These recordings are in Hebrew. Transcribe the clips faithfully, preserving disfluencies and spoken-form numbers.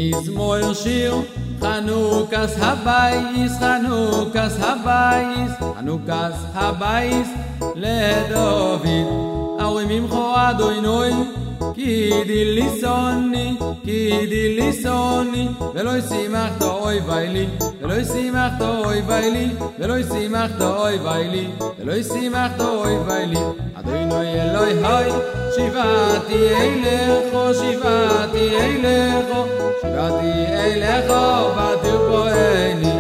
מזמור שיר חנוכס הבייס, חנוכס הבייס, חנוכס הבייס לדוד. אורי ממחו אדוני כי דיליסוני, כי דיליסוני, ולא ישימחת אוי ויילי, ולא ישימחת אוי ויילי, ולא ישימחת אוי ויילי, ולא ישימחת אוי ויילי. אדוני אלוהי היי, שיבעתי אליך, שיבעתי אליך, שיבעתי אליך, ותרפאני,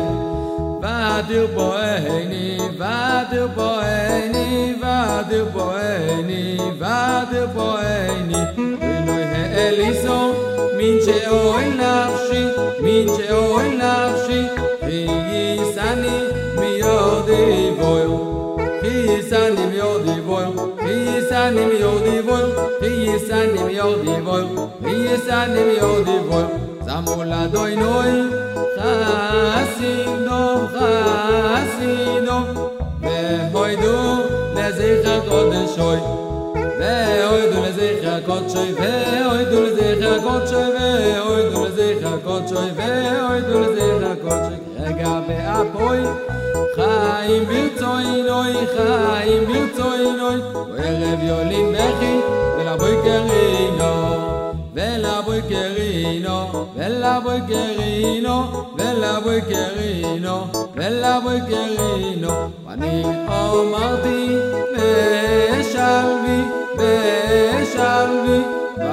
ותרפאני, ותרפאני, ותרפאני, ותרפאני. אדוני האליסו, מן שאוהל נפשי, מן שאוהל נפשי, חייסני מיודי בויר. Hisani mi odi voy, hisani mi odi voy, hisani mi odi voy, hisani mi odi voy. Zamula doy noy, chasino, chasino, vehoidu lezecha kodeshoy, vehoidu lezecha kodshoy, vehoidu lezecha kodshoy, vehoidu lezecha kodshoy, vehoidu lezecha kodshoy. Rega ve'apoy. חיים ברצוינוי, חיים ברצוינוי, וערב יולין בכי, ולבוי קרינו, ולבוי קרינו, ולבוי קרינו, ולבוי קרינו, ולבוי קרינו. ואני אמרתי, בשלבי, בשלבי,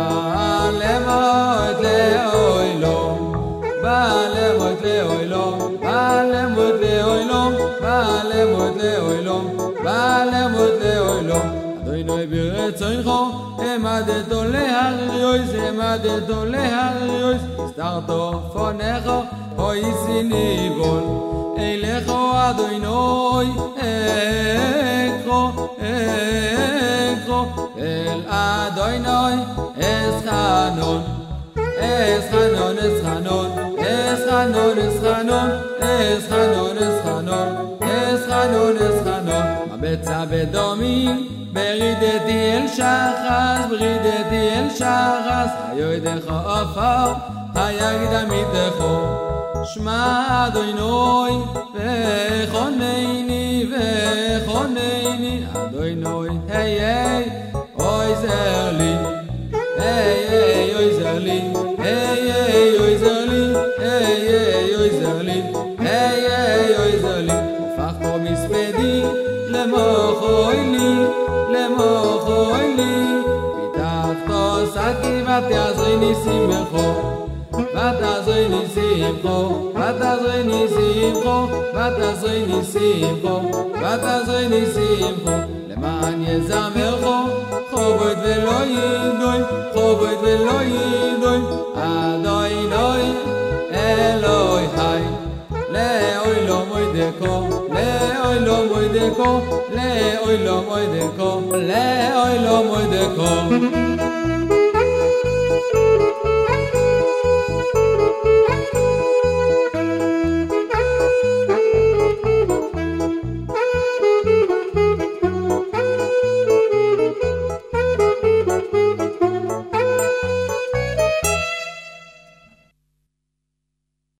בעלמות לאוילום, בעלמות לאוילום, בעלמות לאוילום, בעלמות לאוילום, בעלמות לאוילום. אדוני ברצונך, העמדתו להריוס, העמדתו להריוס, הסתרתו פונך, הויסי ניבול. אליך אדוני, אקרו, אקרו, אל אדוני, אסחנון, אסחנון, אסחנון, אסחנון, אסחנון, אסחנון, אסחנון, אסחנון, אסחנון. מבצע בדומים, ברידתי אל שחס, ברידתי אל שחס, היו ידך עפר, היגד עמיתךו. שמע אדוני, וחונני, וחונני, אדוני, היי היי, אוי זר לי, היי היי, אוי זר לי, היי היי, אוי זר לי, היי היי, אוי זר לי, היי היי, אוי זר לי. הפך פה מספדי למוחוי לי, למוחוי לי, פיתחתו שקי ותעזרי ניסים בכו, ותעזרי ניסים בכו, ותעזרי ניסים בכו, ותעזרי ניסים בכו, ותעזרי ניסים בכו. למען יזמרכו, חובד ולא ידוי, חובד ולא ידוי. אדוני אלוהי היי, לאוי לא מוידקו, לאוי לא מוידקו, לאוי לא מוידקו, לאוי לא מוידקו.